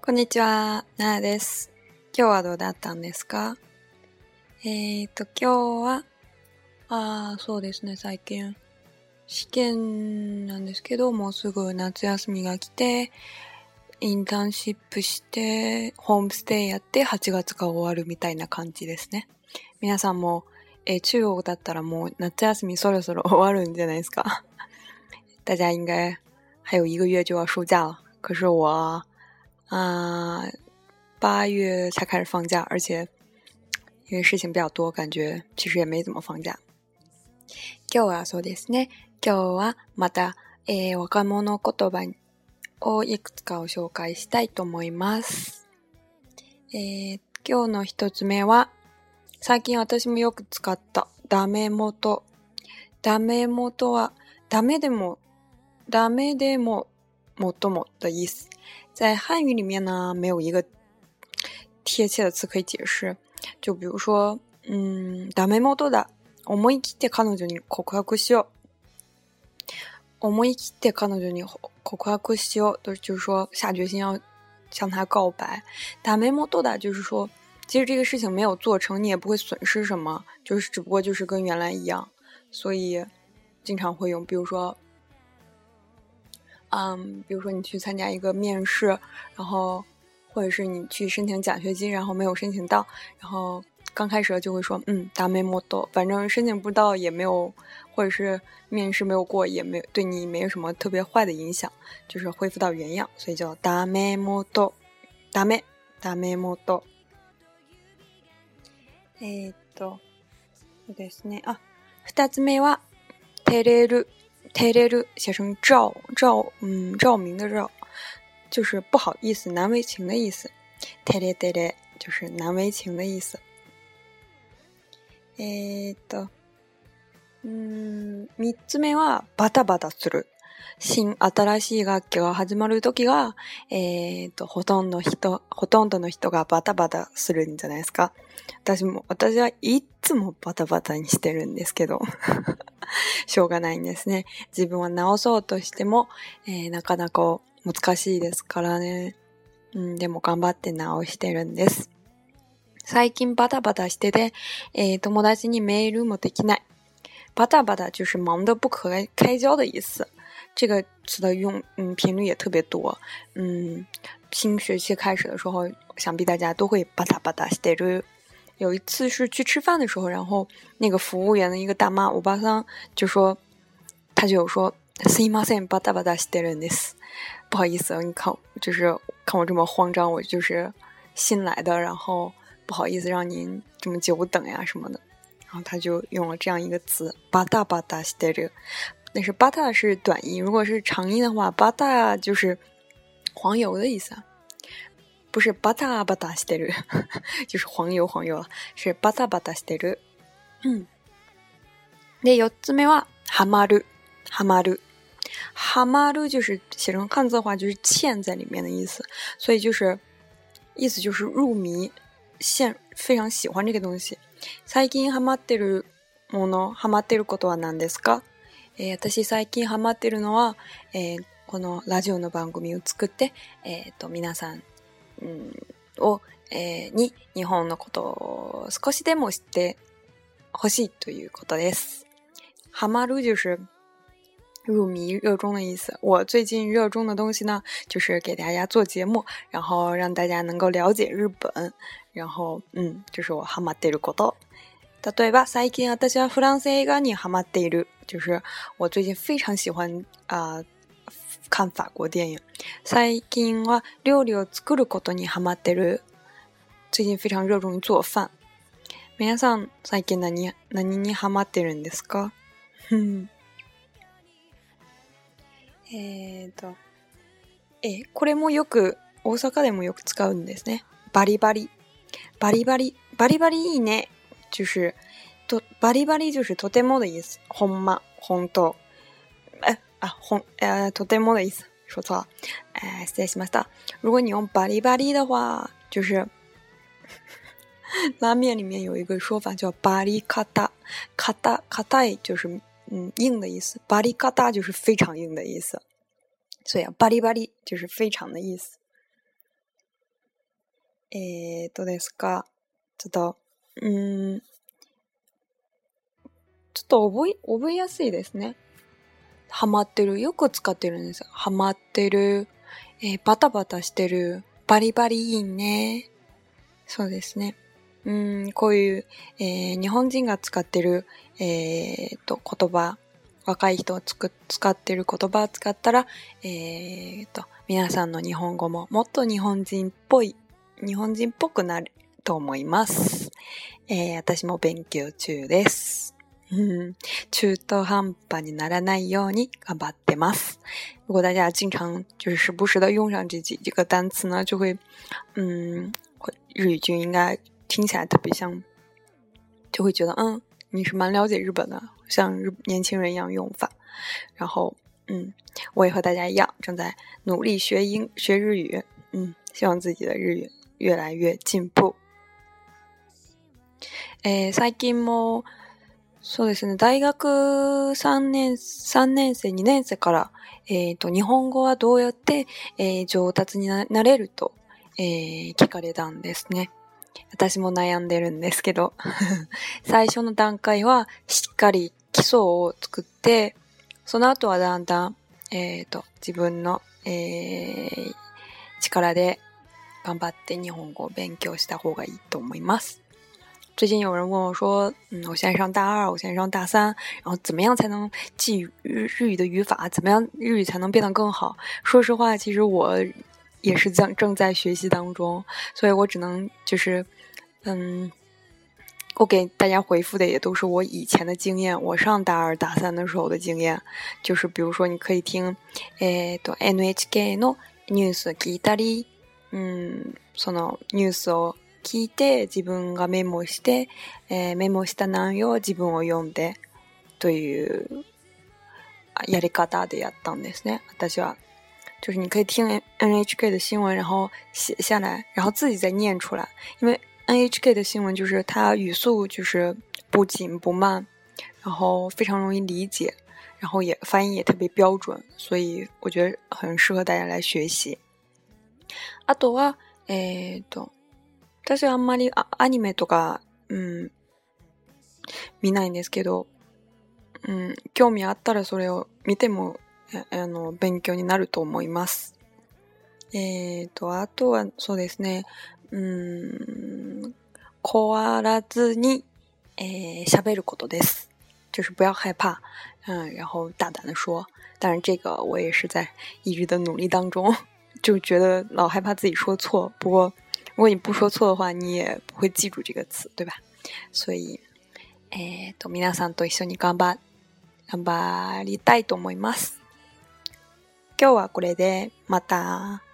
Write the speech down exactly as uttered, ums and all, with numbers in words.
こんにちは、ななです。今日はどうだったんですか？えーと、今日は、あー、そうですね、最近、試験なんですけど、もうすぐ夏休みが来て、インターンシップして、ホームステイやってはちがつが終わるみたいな感じですね。皆さんも、えー、中国だったらもう夏休みそろそろ終わるんじゃないですか？大家应该还有一个月就要暑假了，可是我啊、呃、八月才开始放假，而且因为事情比较多，感觉其实也没怎么放假。今日はそうですね。今日はまた、えー、若者言葉をいくつかを紹介したいと思います。えー、今日の一つ目は、最近私もよく使ったダメ元。ダメ元は、ダメでも、ダメでも、もっとも的意思。在汉语里面呢，没有一个贴切的词可以解释。就比如说，嗯，ダメ元だ。思い切って彼女に告白しよう。思い切って彼女に告白しよう，就是说下决心要向他告白。ダメ元だ就是说，其实这个事情没有做成，你也不会损失什么，就是只不过就是跟原来一样，所以经常会用。比如说，嗯，比如说你去参加一个面试，然后或者是你去申请奖学金，然后没有申请到，然后刚开始就会说，嗯，ダメ元，反正申请不到也没有，或者是面试没有过，也没对你没有什么特别坏的影响，就是恢复到原样，所以叫ダメ元。ダメ、ダメ元。えーっと、そうですね。あ、二つ目は照れる。照れる写成照照，嗯，照明的照，就是不好意思、难为情的意思。照れ照れ就是难为情的意思。えーっと、うーん、三つ目はバタバタする。新、新しい学期が始まるときが、えーっと、ほとんど人、ほとんどの人がバタバタするんじゃないですか。私も、私はいつもバタバタにしてるんですけど、しょうがないんですね。自分は直そうとしても、えー、なかなか難しいですからね。うん、でも頑張って直してるんです。最近バタバタしてて、えー、友達にメールもできない。バタバタ就是忙得不可开交的意思。这个词的用嗯频率也特别多。嗯，新学期开始的时候，想必大家都会バタバタしてる。有一次是去吃饭的时候，然后那个服务员的一个大妈欧巴桑就说，他就有说すいませんバタバタしてるんです。不好意思，你看就是看我这么慌张，我就是新来的，然后不好意思让您这么久等呀什么的。然后他就用了这样一个词バタバタしてる。但是バタ是短音，如果是长音的话，バタ就是黄油的意思啊。不是バタバタしてる，就是黄油黄油了，是バタバタしてる。嗯。で、四つ目はハマる、ハマる。ハマる就是写成汉字的话，就是嵌在里面的意思，所以就是意思就是入迷、陷，非常喜欢这个东西。最近ハマってるもの、ハマってることは何ですか？えー、私最近ハマってるのは、えー、このラジオの番組を作って、えー、と皆さん、うん、を、えー、に日本のことを少しでも知ってほしいということです。ハマる就是入迷热衷的意思。我最近热衷的东西呢，就是给大家做节目，然后让大家能够了解日本，然后嗯，这是我ハマってること。例えば最近私はフランス映画にハマっている，就是我最近非常喜欢啊、呃、看法国电影。最近は料理を作ることにハマってる，最近非常热衷于做饭。皆さん最近何何にハマってるんですか？えーと、え、これもよく大阪でもよく使うんですね。バリバリ、バリバリ、バリバリいいね。就是とバリバリ就是とても的意思。ほんま、本当。哎啊，ほん呃とても的意思，说错了。哎，失礼しました。如果你用バリバリ的话，就是拉面里面有一个说法叫バリカタ，カタカタイ就是嗯硬的意思，バリカタ就是非常硬的意思。所以啊，バリバリ就是非常的意思。 えーとですか、ちょっと、うーん、ちょっと覚え、覚えやすいですね。ハマってる。よく使ってるんですよ。ハマってる。えー、バタバタしてる。バリバリいいね。そうですね。うーん、こういう、えー、日本人が使ってる、えーと、言葉、若い人がつく使ってる言葉を使ったら、えーと、皆さんの日本語ももっと日本人っぽい、日本人っぽくなると思います。えー、私も勉強中です。嗯，中途半端にならないように頑張ってます。如果大家经常就是时不时的用上这几这个单词呢，就会，嗯，日语就应该听起来特别像，就会觉得嗯，你是蛮了解日本的，像日年轻人一样用法。然后，嗯，我也和大家一样，正在努力学英学日语，嗯，希望自己的日语越来越进步。えー、最近もそうですね。大学さんねん、さんねん生、にねん生から、えっと、日本語はどうやって、えー、上達に な, なれると、えー、聞かれたんですね。私も悩んでるんですけど、最初の段階はしっかり基礎を作って、その後はだんだん、えっと、自分の、えー、力で頑張って日本語を勉強した方がいいと思います。最近有人问我说，嗯，我现在上大二，我现在上大三，然后怎么样才能记日日语的语法？怎么样日语才能变得更好？说实话，其实我也是正正在学习当中，所以我只能就是，嗯，我给大家回复的也都是我以前的经验，我上大二大三的时候的经验，就是比如说你可以听，えっと エヌエイチケー のニュース聞いたり、うん、そのニュースを聞いて自分がメモして、えー、メモした内容を自分を読んでというやり方でやったんですね。私は就是你可以听 N H K 的新闻，然后写下来，然后自己再念出来。因为 N H K 的新闻就是它语速就是不紧不慢，然后非常容易理解，然后也发音也特别标准，所以我觉得很适合大家来学习。あとはえっと。私はあんまりアニメとか、うん、見ないんですけど、うん、興味あったらそれを見ても、あの、勉強になると思います。えーと、あとはそうですね、うん、怖らずに、えー、喋ることです。就是不要害怕，嗯，然后大胆的说。当然这个我也是在一直的努力当中，就觉得老害怕自己说错，不过如果你不说错的话，你也不会记住这个词，对吧？所以、えーと、皆さんと一緒に頑張、頑張りたいと思います。今日はこれで、また。